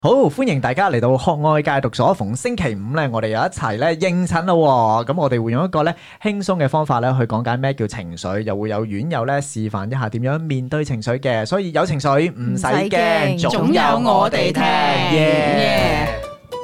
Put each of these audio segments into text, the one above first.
好，歡迎大家嚟到學愛戒毒所。逢星期五咧，我哋又一齊咧應診咯。咁我哋會用一個咧輕鬆嘅方法咧去講解咩叫情緒，又會有院友咧示範一下點樣面對情緒嘅。所以有情緒唔使驚，總有我哋聽。耶！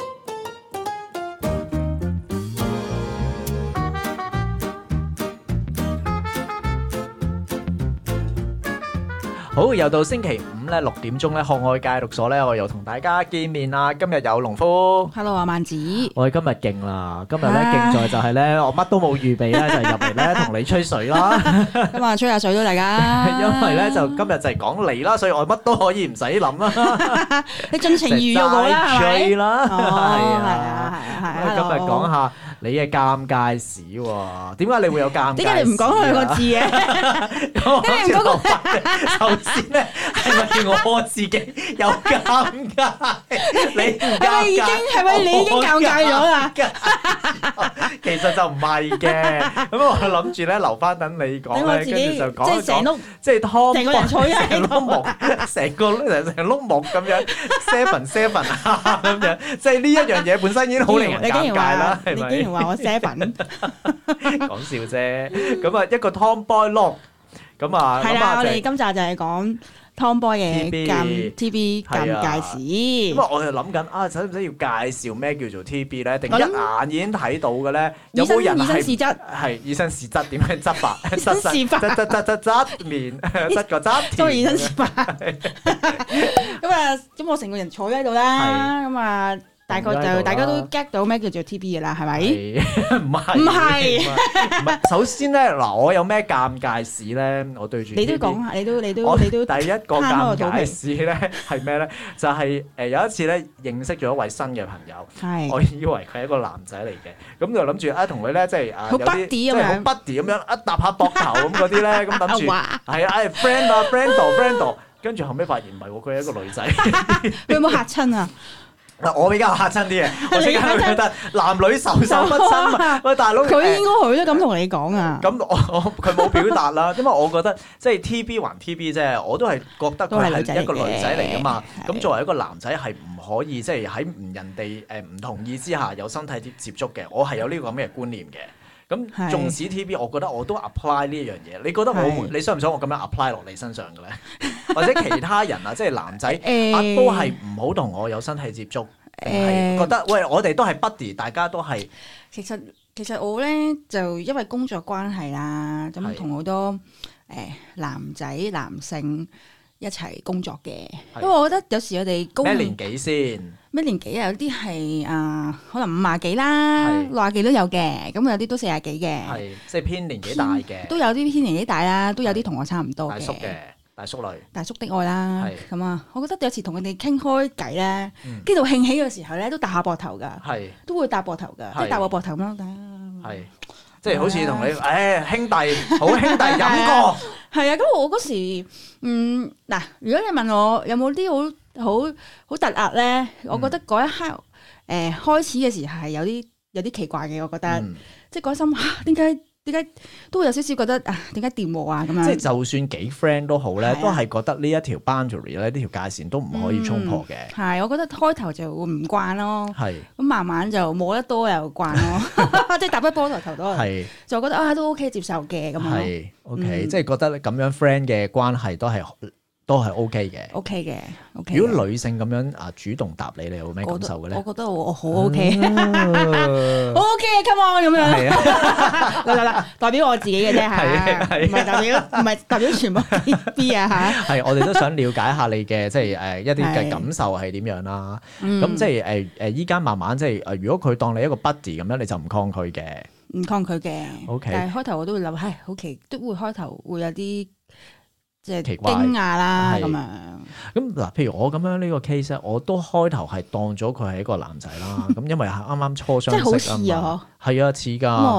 好，又到星期五咧6點鐘咧，學愛戒毒所咧，我又同大家見面啦。今日有農夫 ，Hello 啊，萬子， 我哋今日勁啦！今日咧勁在就係咧，我乜都冇預備咧，就係入嚟咧同你吹水啦。 咁啊，吹下水咯，大家。 因為咧就今日就係講你啦，所以我乜都可以唔使諗啦。 你盡情預約我啦，係咪？ 吹啦， 哦，係啊，係啊。 今日講下你嘅尷尬史喎。點解你會有尷尬？點解你唔講兩個字嘅？ 點解你唔講個？首先咧，係咪我自己有尷尬？你係咪你已經尷尬咗啦？ 其實就唔係嘅，咁我諗住咧留翻等你講咧，跟住就講一講，即係湯， 成個人坐喺成碌木，成碌木咁樣 seven 啊咁樣，即係呢一樣嘢本身已經好令人尷尬啦，係咪？ 你竟然話我 seven， 講笑啫。咁啊，一個 Tomboy look，咁啊， 係啦，我哋今集就係講 Tomboy 嘅 TB 尷尬史。 咁啊，我就諗緊啊，使唔使要介紹咩叫做 TB 咧？定一眼已經睇到嘅咧？有冇人係以身試則點樣執法？側面側個側田。 都以身試法。咁啊，咁我成個人坐喺度啦。咁啊。大概就大家都 get 到咩叫做 TB 嘅啦，係咪？ 唔係。首先咧，嗱，我有咩尷尬史咧？我對住你都講下，你都第一個尷尬史咧係咩咧？就係有一次咧認識咗一位新嘅朋友，我以為佢係一個男仔嚟嘅，咁就諗住啊同佢咧即係有啲即係好 buddy 咁樣一搭下膊頭咁嗰啲咧，咁諗住係啊 friend 啊 friend， 跟住後尾發現唔係喎，佢係一個女仔。 你有冇嚇親啊？ 嗱，我比較嚇親啲嘅，我即刻覺得男女授受不親嘛。喂，大佬， 佢應該佢都咁同你講啊。 咁佢冇表達啦，因為我覺得即係 TB 還 TB 啫，我都係覺得佢係一個女仔嚟噶嘛。咁作為一個男仔係唔可以即係喺人哋唔同意之下有身體接觸嘅，我係有呢個咁嘅觀念嘅。咁縱使 TB，我覺得我都 apply 呢一樣嘢。你覺得你想唔想我咁樣 apply 落你身上嘅咧？或者其他人啊，即係男仔都係唔好同我有身體接觸，係覺得喂，我哋都係 buddy， 大家都係。 其實我咧就因為工作關係啦，咁同好多男性一齊工作嘅，因為我覺得有時我哋咩年紀先？ 咩年紀啊？有啲係可能50幾啦，60幾都有嘅，咁有啲都40幾嘅， 係即係偏年紀大嘅， 都有啲偏年紀大啦，都有啲同我差唔多嘅。 大叔女， 大叔的愛啦，咁啊，我覺得有時同佢哋傾開偈咧，跟住興起嘅時候咧，都搭下膊頭噶，都會搭膊頭噶，即係搭我膊頭咁咯， 係即係好似同你兄弟，好兄弟飲過， 係啊，咁我嗰時嗱，如果你問我有冇啲好突兀咧，我覺得嗰一刻開始嘅時候係有啲奇怪嘅，我覺得即係嗰心點解都會有少少覺得點解掂我啊咁樣？ 即係就算幾 friend 都好咧，都係覺得呢一條 boundary 咧，呢條界線都唔可以衝破嘅。 係，我覺得開頭就會唔慣咯。 係。咁慢慢就摸得多又慣咯，即係搭得波頭多。係。就覺得都 OK 接受嘅咁樣。係 OK，即係覺得咁樣 friend 嘅關係都係 OK 嘅。 OK 嘅。 如果女性咁樣主動答你，你有咩感受嘅咧？ 我覺得我好 OK，好 OK，come on 咁樣。嗱，代表我自己嘅啫嚇，唔係代表全部 TB 啊嚇。 係，我哋都想了解下你嘅即係一啲嘅感受係點樣啦。咁即係依家慢慢即係如果佢當你一個 buddy 咁樣，你就唔抗拒嘅。 唔抗拒嘅。 OK。 但係開頭我都會諗，好奇都會開頭會有啲。即係奇怪驚訝啦咁樣。 咁嗱，譬如我咁樣呢個 case 咧，我都開頭係當咗佢係一個男仔啦。咁因為啱啱初相識啊嘛。即係好似啊，係啊，似㗎。 咁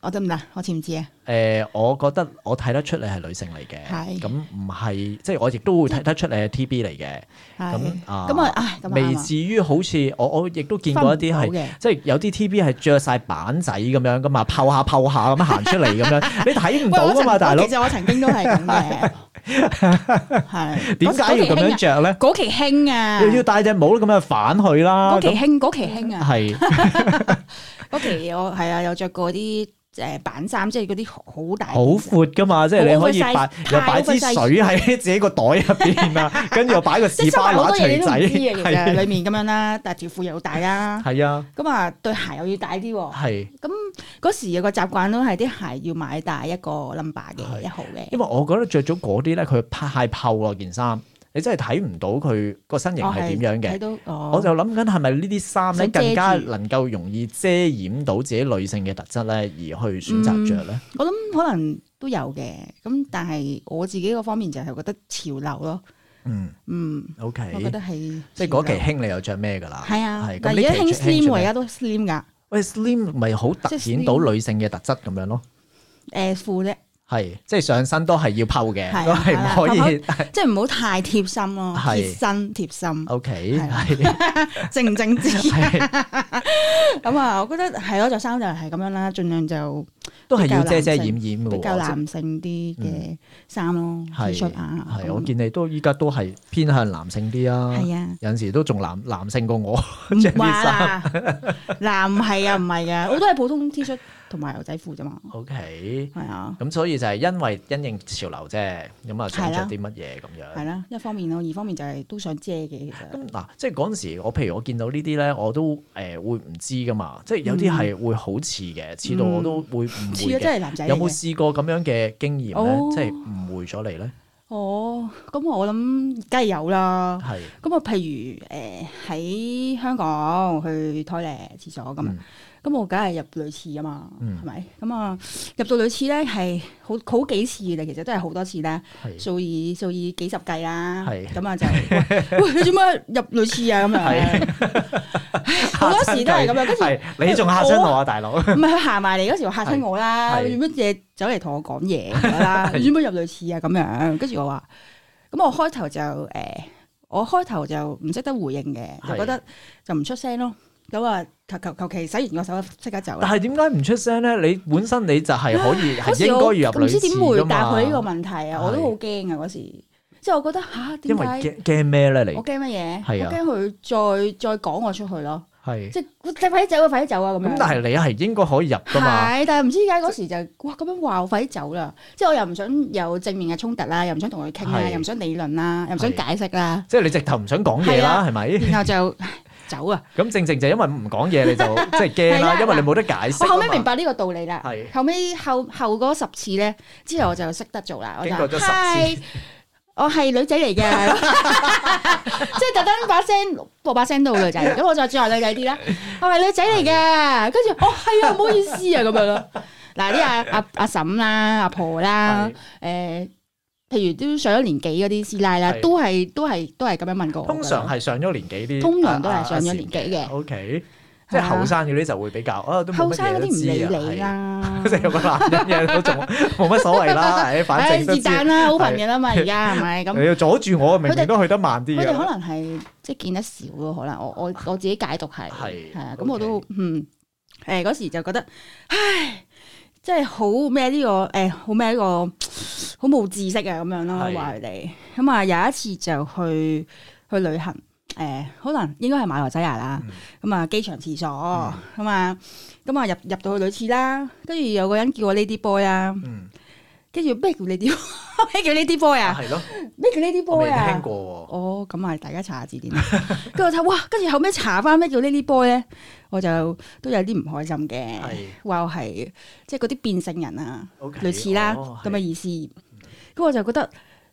我得唔得？我似唔似啊？ 我覺得我睇得出你係女性嚟嘅， 係咁唔係即係我亦都會睇得出你係 TB 嚟嘅。咁未至於好似我亦都見過一啲係即係有啲 TB 係着晒板仔咁樣噶嘛，泡下咁行出嚟咁樣，你睇唔到噶嘛，大佬。 其實我曾經都係咁嘅，係點解要咁樣着咧？ 嗰期興啊， 要戴隻帽咁樣反佢啦。 嗰期興啊， 係嗰期我係啊，有着過啲。板衫即係嗰啲好大好闊噶嘛，即係你可以又擺支水喺自己個袋入邊啊，跟住又擺個士巴拿錘仔， 其實裏面咁樣啦，但係條褲又大啦， 係啊， 咁啊對鞋又要大啲喎， 係咁嗰時有個習慣都係啲鞋要買大一個 number 嘅1號嘅， 因為我覺得着咗嗰啲咧，佢太透啊件衫。你真係睇唔到佢個身形係點樣嘅，我就諗緊係咪呢啲衫咧更加能夠容易遮掩到自己女性嘅特質咧，而去選擇着咧？ 我諗可能都有嘅，咁但係我自己個方面就係覺得潮流咯。OK， 我覺得係即係嗰期興你又着咩㗎啦？ 係啊，但係而家興 slim 喎，而家都 slim 㗎。 喂 ，slim 咪好突顯到女性嘅特質咁樣咯？ 褲啫。 係，即係上身都係要拋嘅，都係唔可以， 即係唔好太貼心咯，貼身。 O K， 正唔正直？咁啊，我覺得係咯，着衫就係咁樣啦，盡量就都係要遮遮掩掩嘅， 比較男性啲嘅衫咯，T 恤啊。 係，我見你都依家都係偏向男性啲啊。 係啊，有陣時都仲男性過我着啲衫。 男係啊，唔係㗎，我都係普通 T 恤。同埋牛仔褲啫嘛。 OK， 係啊。 咁所以就係因為因應潮流啫，咁啊想着啲乜嘢咁樣。 係啦，一方面咯，二方面就係都想遮嘅其實。 咁嗱，即係嗰陣時，譬如我見到呢啲咧，我都會唔知噶嘛，即係有啲係會好似嘅，似到我都會誤會嘅。 真係男仔。 有冇試過咁樣嘅經驗咧？即係誤會咗你咧？ 哦，咁我諗梗係有啦。 係。咁啊，譬如喺香港去拖唎廁所咁。咁我梗係入女廁啊嘛，係咪？咁啊入到女廁咧係好幾次嘅，其實都係好多次咧，數以幾十計啦。咁啊就喂你做乜入女廁啊？咁樣好多時都係咁樣。跟住你仲嚇親我啊，大佬！唔係佢行埋嚟嗰時話嚇親我啦，做乜嘢走嚟同我講嘢啦？你做乜入女廁啊？咁樣跟住我話，咁我開頭就唔識得回應嘅，就覺得就唔出聲咯。咁啊，求其洗完個手即刻走。但係點解唔出聲咧？你本身你就係可以係應該要入女廁㗎嘛？唔知點回答佢呢個問題啊！我都好驚啊嗰時，即係我覺得嚇點解？因為驚咩咧？你我驚乜嘢？ 係啊， 我驚佢再趕我出去咯。 係即係快啲走啊！快啲走啊！咁樣。 咁但係你係應該可以入㗎嘛？ 係，但係唔知點解嗰時就哇咁樣話我快啲走啦！即係我又唔想有正面嘅衝突啦，又唔想同佢傾啦，又唔想理論啦，又唔想解釋啦。 即係你直頭唔想講嘢啦，係咪？ 然後就走啊！ 咁正就因為唔講嘢你就即係驚啦，因為你冇得解釋。 我後尾明白呢個道理啦。後尾後嗰10次咧，之後我就識得做啦。 經過咗10次， 我係女仔嚟嘅，即係特登播把聲到女仔，咁我就轉下女仔啲啦。我係女仔嚟嘅，跟住係啊，唔好意思啊，咁樣咯。嗱啲阿嬸啦、阿婆啦，譬如都上咗年紀嗰啲師奶啦，都係咁樣問過我。 通常係上咗年紀啲， 通常都係上咗年紀嘅。 OK，即係後生嗰啲就會比較都冇乜嘢都知啊。後生嗰啲唔理你啦，即係有個男人嘅都仲冇乜所謂啦。反正都是但啦，好朋友啦嘛，而家係咪咁？你要阻住我，明明都去得慢啲。 佢哋可能係即係見得少咯，可能我自己解讀係啊，咁我都嗰時就覺得唉。即係好咩呢個好咩呢個好冇知識啊咁樣咯，話佢哋咁啊有一次就去旅行可能應該係馬來西亞啦，咁啊機場廁所咁啊入到去女廁啦，跟住有個人叫我 Lady Boy 啊，跟住咩叫 Lady 咩叫 Lady Boy 啊？係咯，咩叫 Lady Boy 啊？ 未聽過喎。哦， 咁啊大家查下字典啦。跟住我睇哇，跟住後尾查翻咩叫 Lady Boy 咧，我就都有啲唔開心嘅，話我係即係嗰啲變性人啊，類似啦咁嘅意思。咁我就覺得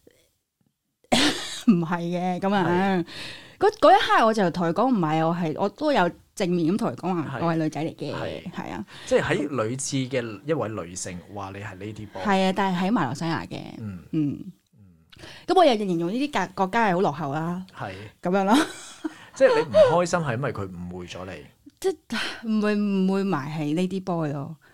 唔係嘅咁啊。嗰一刻我就同佢講唔係，我都有正面咁同佢講話，我係女仔嚟嘅，係啊。即係喺女廁嘅一位女性話你係 Lady Boy。 係啊，但係喺馬來西亞嘅，咁我又形容呢啲國家係好落後啦，係咁樣咯。 即係你唔開心係因為佢誤會咗你， 即係唔會埋係 Lady Boy 咯。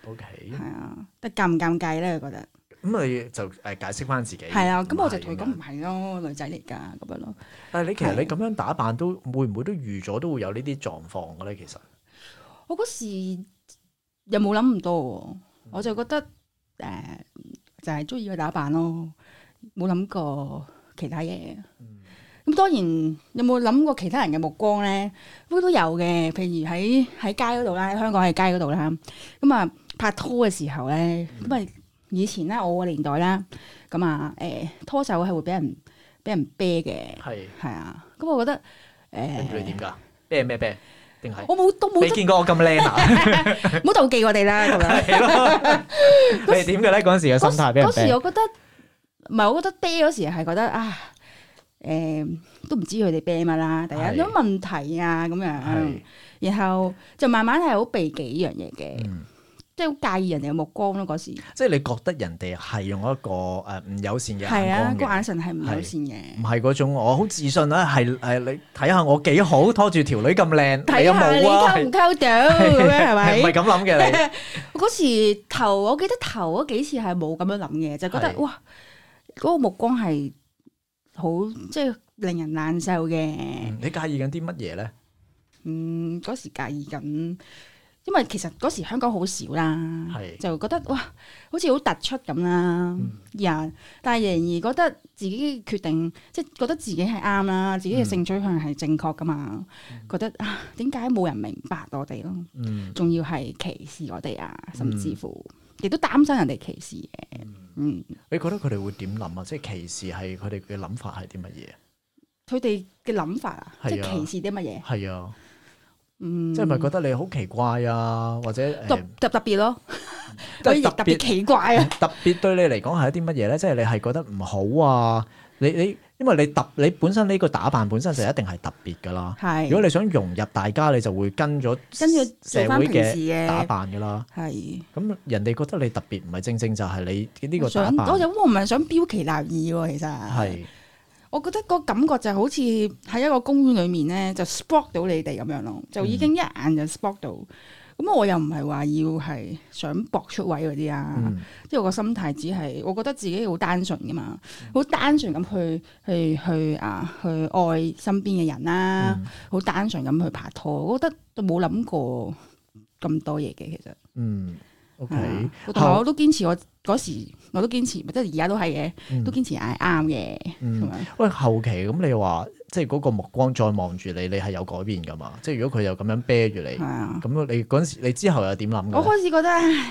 OK， 係啊，但尷唔尷尬咧？我覺得咁你就解釋翻自己。 係啊，咁我就同佢講唔係咯，女仔嚟㗎咁樣咯。 但係你其實你咁樣打扮都會唔會都預咗都會有呢啲狀況嘅咧？其實我嗰時又冇諗咁多喎，我就覺得就係中意佢打扮咯，冇諗過其他嘢。咁當然有冇諗過其他人嘅目光咧？都有嘅，譬如喺街嗰度啦，喺香港喺街嗰度啦。咁啊拍拖嘅時候咧，咁啊以前咧我個年代啦，咁啊拖手係會俾人啤嘅，係啊。咁我覺得你點㗎？啤咩啤？定係我都冇你見過我咁靚啊？ 唔好妒忌我哋啦咁樣。 係咯，你係點嘅咧？嗰陣時嘅心態俾人啤。 嗰時我覺得唔係，我覺得啤嗰時係覺得啊。都唔知佢哋啤乜啦，第一有問題啊咁樣，然後就慢慢係好避忌呢樣嘢嘅，即係好介意人哋嘅目光咯嗰時。 即係你覺得人哋係用一個唔友善嘅眼光嘅， 係啊，個眼神係唔友善嘅， 唔係嗰種我好自信啦，係你睇下我幾好，拖住條女咁靚， 睇下你溝唔溝到咁樣係咪？ 唔係咁諗嘅你。 嗰時我記得頭嗰幾次係冇咁樣諗嘅，就覺得哇嗰個目光係。好即係令人難受嘅。 你介意緊啲乜嘢咧？ 嗰時介意緊，因為其實嗰時香港好少啦，就覺得哇，好似好突出咁啦。但係仍然覺得自己決定，即係覺得自己係啱啦，自己嘅性取向係正確噶嘛。覺得啊，點解冇人明白我哋咯？仲要係歧視我哋啊，甚至乎亦都擔心人哋歧視嘅。 你覺得佢哋會點諗啊？即係歧視係佢哋嘅諗法係啲乜嘢？ 佢哋嘅諗法啊，即係歧視啲乜嘢？ 係啊，即係咪覺得你好奇怪啊？或者特別咯，特別奇怪啊！ 特別對你嚟講係一啲乜嘢咧？即係你係覺得唔好啊？你因為你本身呢個打扮本身就一定係特別噶啦。如果你想融入大家，你就會跟咗社會嘅打扮噶啦。係咁，人哋覺得你特別，唔係正正就係你呢個打扮。 我唔係想標奇立異喎，其實係。我覺得個感覺就好似喺一個公園裏面咧，就 spot 到你哋咁樣咯，就已經一眼就 spot 到。咁我又唔係話要係想搏出位嗰啲啊，即係我個心態只係我覺得自己好單純噶嘛，好單純咁去愛身邊嘅人啦，好單純咁去拍拖，我覺得都冇諗過咁多嘢嘅其實。 OK， 同埋我都堅持，我嗰時我都堅持，即係而家都係嘅，都堅持係啱嘅。 喂，後期咁你話即係嗰個目光再望住你，你係有改變噶嘛？即係如果佢又咁樣啤住你，咁你嗰陣時你之後又點諗？ 我開始覺得，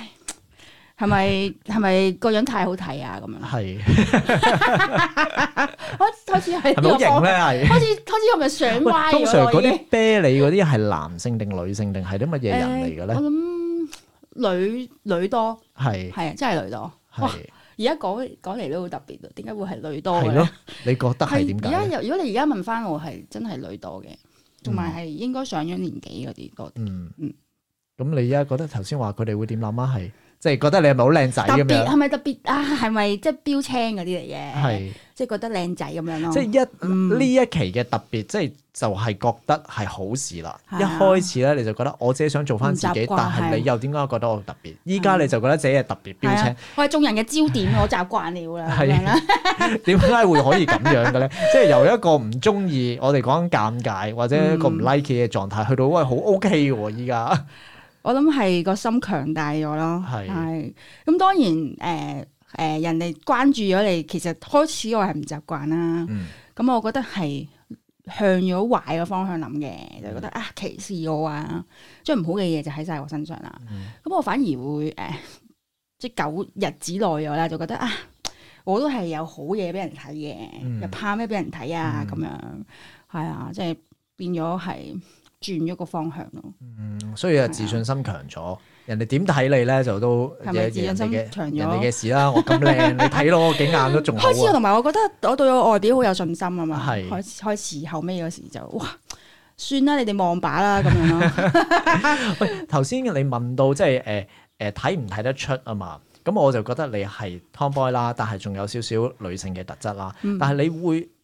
係咪個樣太好睇啊？咁樣開始係咪好型咧？係開始係咪上歪？ 通常嗰啲啤你嗰啲係男性定女性定係啲乜嘢人嚟嘅咧？ 我諗女多，係啊，真係女多。哇！而家講嚟都好特別，點解會係女多嘅？係咯， 你覺得係點解？ 如果你而家問翻我，係真係女多嘅，同埋係應該上咗年紀嗰啲多啲。 咁你而家覺得頭先話佢哋會點諗啊？係即係覺得你係咪好靚仔咁樣？ 係咪特別啊？係咪即係標青嗰啲嚟嘅？係即係覺得靚仔咁樣咯。 即係呢一期嘅特別，即係就係覺得係好事啦。一開始咧你就覺得我自己想做翻自己，但係你又點解覺得我特別？依家你就覺得自己係特別標青。 我係眾人嘅焦點，我習慣了啦。係啦， 點解會可以咁樣嘅咧？即係由一個唔中意，我哋講緊尷尬或者一個唔 like 嘅狀態，去到喂好 OK 嘅喎，依家。我諗係個心強大咗咯，係咁當然人哋關注咗你，其實開始我係唔習慣啦。咁我覺得係向咗壞嘅方向諗嘅，就覺得啊歧視我啊，將唔好嘅嘢就喺晒我身上啦。咁我反而會即係久日子耐咗啦，就覺得啊，我都係有好嘢俾人睇嘅，又怕咩俾人睇啊？咁樣係啊，即係變咗係。轉咗個方向咯， 所以自信心強咗，人哋點睇你咧就都係咪自信心強咗？ 人哋嘅事啦，我咁靚，你睇到我幾眼都仲好。 開始同埋我覺得我對我外表好有信心啊嘛，開始後尾嗰時就哇，算啦，你哋望把啦咁樣咯。 喂，頭先你問到即係睇唔睇得出啊嘛？咁我就覺得你係 Tomboy 啦，但係仲有少少女性嘅特質啦。但係你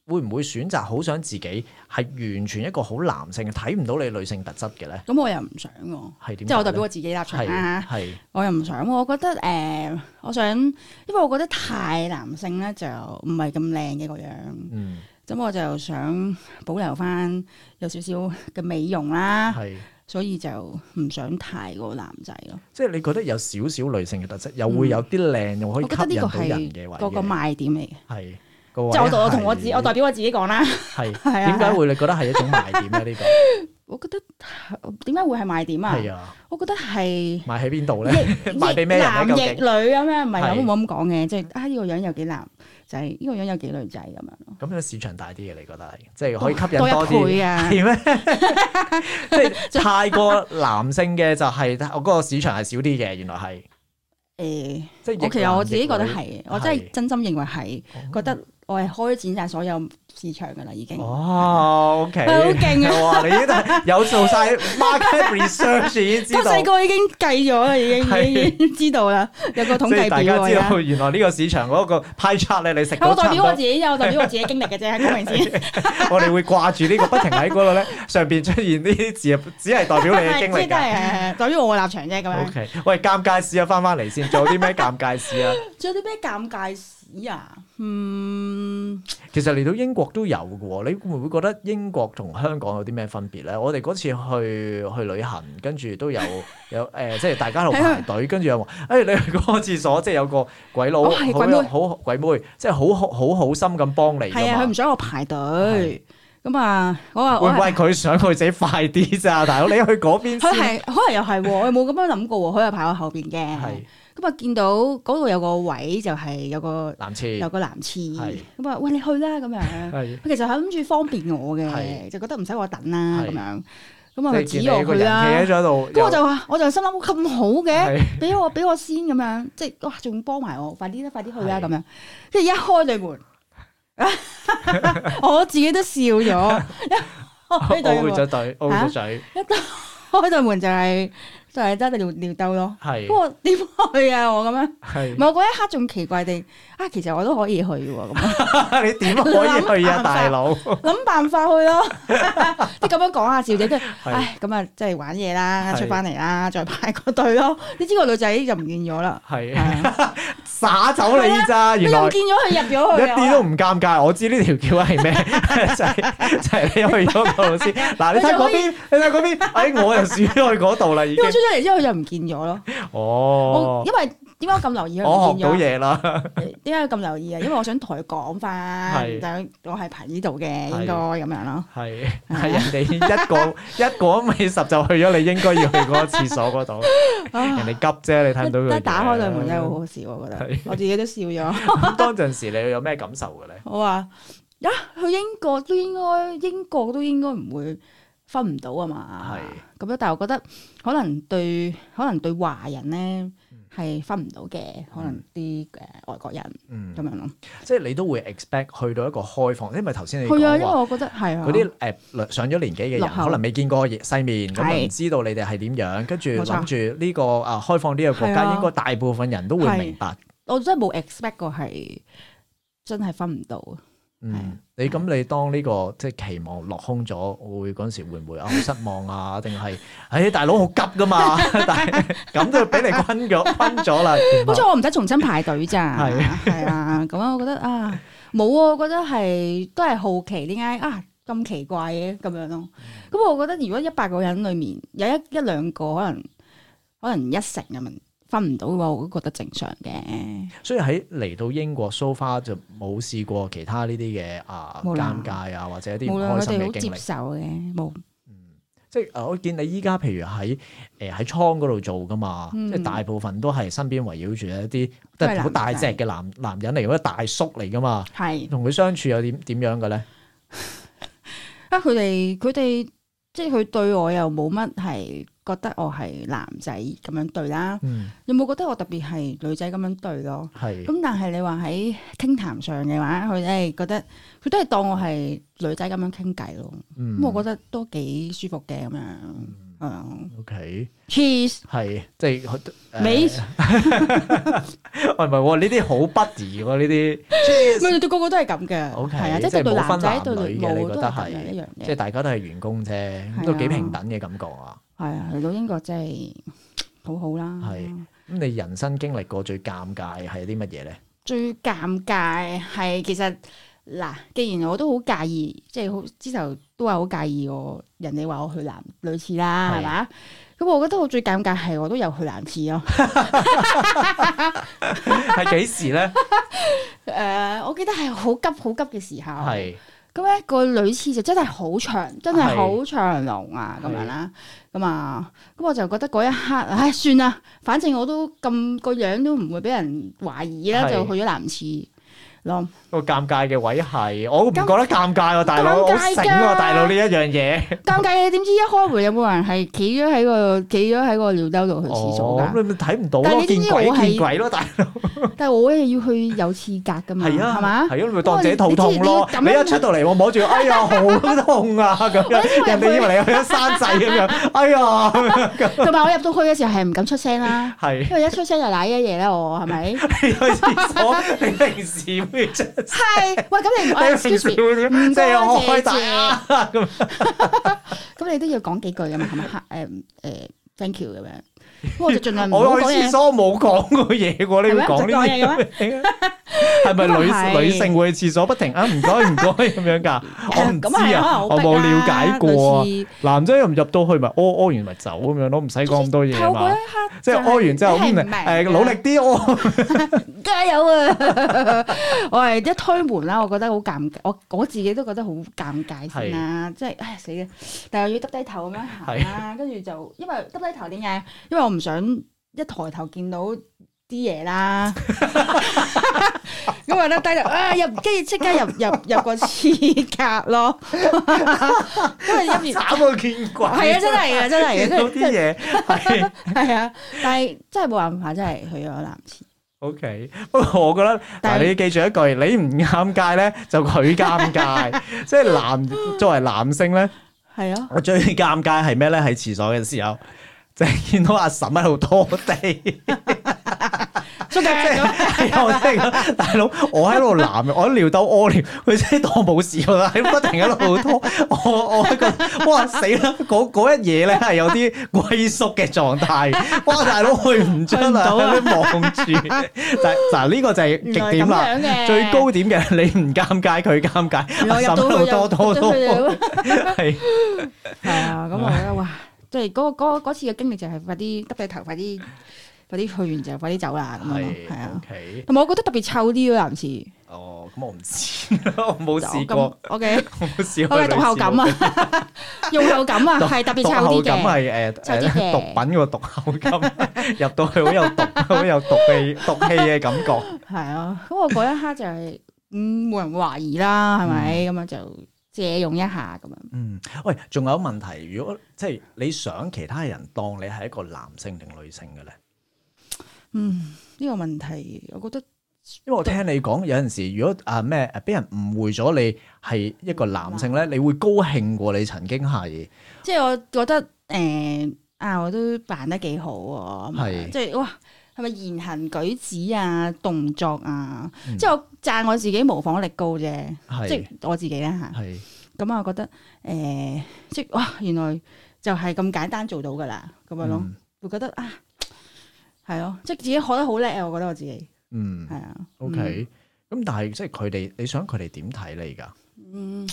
會唔會選擇好想自己係完全一個好男性嘅，睇唔到你女性特質嘅咧？ 咁我又唔想喎， 係點？ 即係我代表我自己立場啦。 係我又唔想，我覺得我想，因為我覺得太男性咧就唔係咁靚嘅個樣。咁我就想保留翻有少少嘅美容啦。所以就唔想太過男仔咯。 即係你覺得有少少女性嘅特質，又會有啲靚，又可以吸引到人嘅位嘅。 個賣點嚟嘅。 係。 即係我同我代表我自己講啦。 係點解會你覺得係一種賣點咧？呢個我覺得點解會係賣點啊？ 係啊，我覺得係賣喺邊度咧？賣俾咩人咧？ 男亦女咁樣，唔係咁講嘅，即係呢個樣有幾男仔，呢個樣有幾女仔咁樣咯。咁樣市場大啲嘅，你覺得係即係可以吸引多啲？ 多一倍啊？ 係咩？即係太過男性嘅就係我嗰個市場係少啲嘅，原來係。 即係我其實我自己覺得係，我真係真心認為係，覺得我係開展晒所有市場噶啦，已經。 哦，OK， 好勁啊！ 哇，你呢度有做晒 market research， 已經知道。 我細個已經計咗啦，已經知道啦，有個統計表。 大家知道原來呢個市場嗰個 pie chart 咧，你食到差唔多。 我代表我自己，我代表我自己經歷嘅啫，講明先。 我哋會掛住呢個，不停喺嗰度咧上邊出現呢啲字，只係代表你嘅經歷㗎。 代表我嘅立場啫，咁樣。 OK，喂，尷尬事啊，翻嚟先，仲有啲咩尷尬事啊？ 仲有啲咩尷尬事啊？ 其實嚟到英國都有嘅喎，你會唔會覺得英國同香港有啲咩分別咧？我哋嗰次去旅行，跟住都有即係大家喺度排隊，跟住又話你去嗰個廁所，即係有個鬼佬好鬼妹，即係好心咁幫你。 係啊，佢唔想我排隊。咁啊，我話會唔會佢想佢自己快啲咋？大佬，你去嗰邊先。 佢係可能又係，我冇咁樣諗過喎。佢又排我後邊嘅。咁啊，見到嗰度有個位就係有個男廁，咁啊，喂，你去啦咁樣。佢其實係諗住方便我嘅，就覺得唔使我等啦咁樣。咁啊，佢指我去啦。咁我就心諗咁好嘅，俾我先咁樣，即係哇，仲幫埋我，快啲去啦咁樣。跟住一開對門，我自己都笑咗。 開對門，咗嘴， 一開對門就係得尿兜咯。不過點去啊？我咁樣，唔係我嗰一刻仲奇怪地其實我都可以去喎。咁你點可以去啊，大佬？ 諗辦法去咯。即係咁樣講下笑啫，跟住咁啊，即係玩嘢啦，出翻嚟啦，再排個隊咯。你知個女仔就唔見咗啦， 耍走你咋？原來唔見咗佢入咗去， 一啲都唔尷尬。我知呢條橋係咩，就係你去咗嗰度先。嗱，你睇嗰邊，我又鼠咗去嗰度啦，已經。出咗嚟之後佢就唔見咗咯。 哦， 因為點解我咁留意佢唔見咗？我學到嘢啦。 點解咁留意啊？因為我想同佢講翻，我係排呢度嘅，應該咁樣咯。係人哋一個尾十就去咗，你應該要去嗰個廁所嗰度。人哋急啫，你睇唔到佢。 一打開對門真係好好笑，我覺得。我自己都笑咗。 咁當陣時你有咩感受嘅咧？ 我話去英國都應該唔會分唔到啊嘛。咁樣，但係我覺得可能對華人咧係分唔到嘅，可能啲外國人咁樣咯。即係你都會 expect 去到一個開放，因為頭先你係啊，因為我覺得係啊， 嗰啲上咗年紀嘅人可能未見過世面，咁唔知道你哋係點樣，跟住諗住呢個開放呢個國家，應該大部分人都會明白。 我真係冇 expect 過係真係分唔到。 你當呢個即係期望落空咗，會嗰陣時會唔會好失望啊？定係大佬好急噶嘛？但係咁都俾你坤咗啦。 好彩我唔使重新排隊咋。係啊，咁我覺得冇啊，我覺得都係好奇點解咁奇怪嘅咁樣咯。咁我覺得如果100個人裡面有一兩個可能1成咁樣分唔到嘅話，我都覺得正常嘅。 所以喺嚟到英國 so far 就冇試過其他呢啲嘅尷尬啊，或者一啲唔開心嘅經歷。佢哋好接受嘅，冇。即係我見你依家譬如喺倉嗰度做噶嘛，即係大部分都係身邊圍繞住一啲都係好大隻嘅男人嚟，或者大叔嚟噶嘛。係同佢相處又點樣嘅咧？ 佢哋即係佢對我又冇乜係覺得我係男仔咁樣對啦，有冇覺得我特別係女仔咁樣對咯？咁但係你話喺傾談上嘅話，佢哋覺得佢都係當我係女仔咁樣傾偈咯。咁我覺得都幾舒服嘅咁樣。 OK cheese 係即係美， 喂唔係喎，呢啲好 buddy 喎呢啲， 咪對個個都係咁嘅。 OK 係啊，即係對男仔對女冇都係咁嘅一樣嘢。 即係大家都係員工啫，都幾平等嘅感覺啊。 係啊，嚟到英國真係好好啦。 係咁，你人生經歷過最尷尬係啲乜嘢咧？ 最尷尬係其實嗱，既然我都好介意，即係好之頭都話好介意人哋話我去男女廁啦，係嘛？咁我覺得我最尷尬係我都有去男廁咯。 係幾時咧？ 我記得係好急好急嘅時候。 係咁咧個女廁就真係好長，真係好長龍啊咁樣啦。咁我就覺得嗰一刻，唉，算啦，反正我都咁個樣都唔會俾人懷疑啦，就去咗男廁咯。 個尷尬嘅位係，我唔覺得尷尬喎，大佬好醒喎，大佬呢一樣嘢。 尷尬嘅點知一開門有冇人係企咗喺個尿兜度去廁所㗎？ 咁你咪睇唔到咯，見鬼咯，大佬！ 但係我要去有廁格㗎嘛，係嘛？ 係啊，咪當自己肚痛咯。你一出到嚟，我摸住，哎呀，好痛啊！咁樣，人哋以為你去咗山仔咁樣，哎呀！ 同埋我入到去嘅時候係唔敢出聲啦，因為一出聲就瀨一嘢啦，我係咪？ 你去廁所，你平時會出聲？ 係，喂，咁你平時會點？即係我開大啊咁。 咁你都要講幾句㗎嘛？係咪？thank you 咁樣。我就盡量唔好講嘢。 我去廁所冇講過嘢喎，你會講呢啲嘢？係咪女性會去廁所不停啊？唔該咁樣㗎？我唔知啊，我冇了解過啊。男仔又唔入到去咪屙完咪走咁樣咯，唔使講咁多嘢嘛。即係屙完之後努力啲屙， 加油啊！我係一推門啦，我覺得好尷尬，我自己都覺得好尷尬先啦。即係唉死啦！但係又要耷低頭咁樣行啦，跟住就因為耷低頭點解？因為我唔想一抬頭見到啲嘢啦，咁啊咧低頭入，跟住即刻入個廁格咯，因為入面慘過見鬼， 係啊，真係嘅，真係嘅， 見到啲嘢係啊，但係真係冇辦法，真係去咗男廁。 OK，不過我覺得，但係你記住一句，你唔尷尬咧，就佢尷尬，即係作為男性咧， 係啊， 我最尷尬係咩咧？喺廁所嘅時候。就係見到阿嬸喺度拖地， 出街咁， 我真係講，大佬，我喺度我喺尿兜屙尿，佢真係當冇事喎，喺不停喺度拖，我覺得哇死啦！嗰一嘢咧係有啲龜縮嘅狀態，哇大佬去唔出啊，喺度望住，嗱呢個就係極點啦，最高點嘅你唔尷尬，佢尷尬，阿嬸喺度拖，係啊，咁我覺得哇〜即係嗰次嘅經歷就係快啲耷低頭，快啲去完就快啲走啦咁樣咯，係啊。同埋我覺得特別臭啲咯，男廁。 哦，咁我唔知，我冇試過。 OK， 我冇試過。 我嘅讀後感啊，用後感啊，係特別臭啲嘅。 讀後感係毒品個讀後感，入到去好有毒氣嘅感覺。 係啊，咁我嗰一刻就係冇人懷疑啦，係咪咁樣就。借用一下咁樣。 喂，仲有問題，如果即係你想其他人當你係一個男性定女性嘅咧？ 呢個問題，我覺得， 因為我聽你講有陣時，如果俾人誤會咗你係一個男性咧，你會高興過你曾經係。即係我覺得我都扮得幾好喎，即係哇！係咪言行舉止啊、動作啊？即係我讚我自己模仿力高啫，即係我自己咧嚇。咁啊，我覺得即係哇，原來就係咁簡單做到噶啦，咁樣咯，會覺得啊，係咯，即係自己學得好叻啊！我覺得我自己，係啊。 OK，咁但係即係佢哋，你想佢哋點睇你㗎？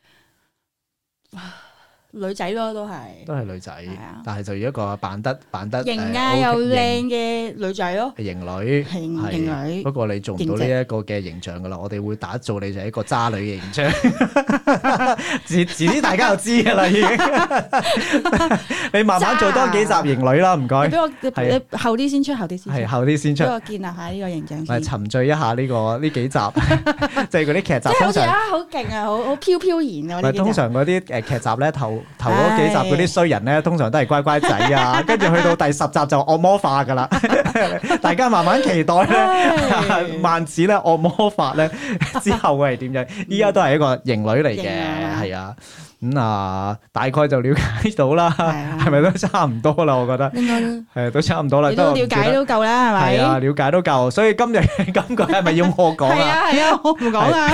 女仔咯，都係女仔，但係就要一個扮得型啊又靚嘅女仔咯， 型女， 型女。 不過你做唔到呢一個嘅形象噶啦，我哋會打造你就係一個渣女嘅形象。遲啲大家就知噶啦，已經。你慢慢做多幾集型女啦，唔該。 俾我你後啲先出，後啲先出。俾我建立下呢個形象先。 沉醉一下呢幾集，即係嗰啲劇集。 即係好似好勁啊，好飄然啊！ 通常嗰啲劇集咧頭嗰幾集嗰啲衰人咧，通常都係乖乖仔啊，跟住去到第10集就惡魔化噶啦，大家慢慢期待咧，萬子咧惡魔化咧之後會係點樣？依家都係一個型女嚟嘅，係啊， 大概就了解到啦，係咪都差唔多啦？我覺得應該係都差唔多啦， 你都了解都夠啦，係咪？ 係啊，了解都夠。所以今日今句係咪要我講啊？ 係啊，我唔講啊。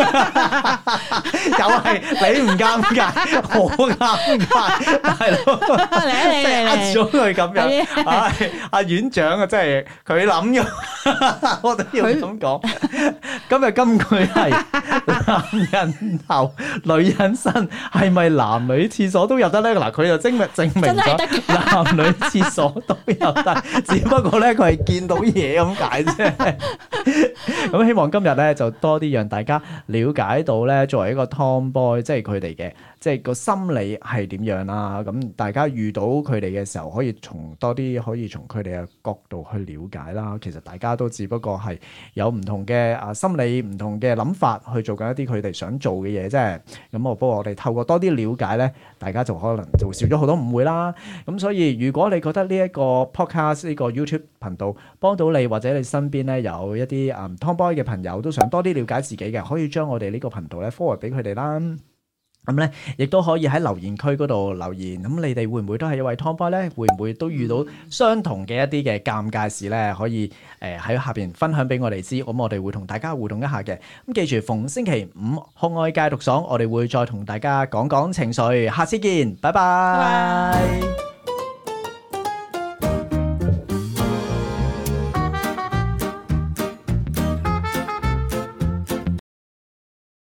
又係你唔尷尬，我尷尬，大佬，即係呃咗佢咁樣。阿院長啊，真係佢諗咗，我都要咁講。今日金句係男人頭，女人身，係咪男女廁所都有得咧？嗱，佢就證明咗男女廁所都有得，只不過咧佢係見到嘢咁解啫。咁希望今日咧就多啲讓大家了解到咧，作為一個 Tomboy，即係佢哋嘅即係個心理係點樣啦。咁大家遇到佢哋嘅時候，可以從佢哋嘅角度去了解啦。其實大家都只不過係有唔同嘅心理、唔同嘅諗法去做緊一啲佢哋想做嘅嘢啫。咁不過我哋透過多啲了解咧，大家就可能就少咗好多誤會啦。咁所以如果你覺得呢一個 podcast 呢個 YouTube 頻道幫到你，或者你身邊咧有一啲Tomboy 嘅朋友都想多啲了解自己嘅，可以將我哋呢個頻道咧 forward 俾佢哋啦。咁咧，亦都可以喺留言區嗰度留言。咁你哋會唔會都係一位 Tomboy 咧？會唔會都遇到相同嘅一啲嘅尷尬事咧？可以喺下邊分享俾我哋知。咁我哋會同大家互動一下嘅。咁記住，逢星期五酷愛戒毒爽，我哋會再同大家講講情緒。下次見，拜拜。